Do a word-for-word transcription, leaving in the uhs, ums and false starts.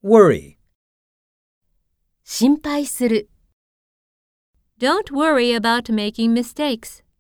worry. 心配する。 Don't worry about making mistakes.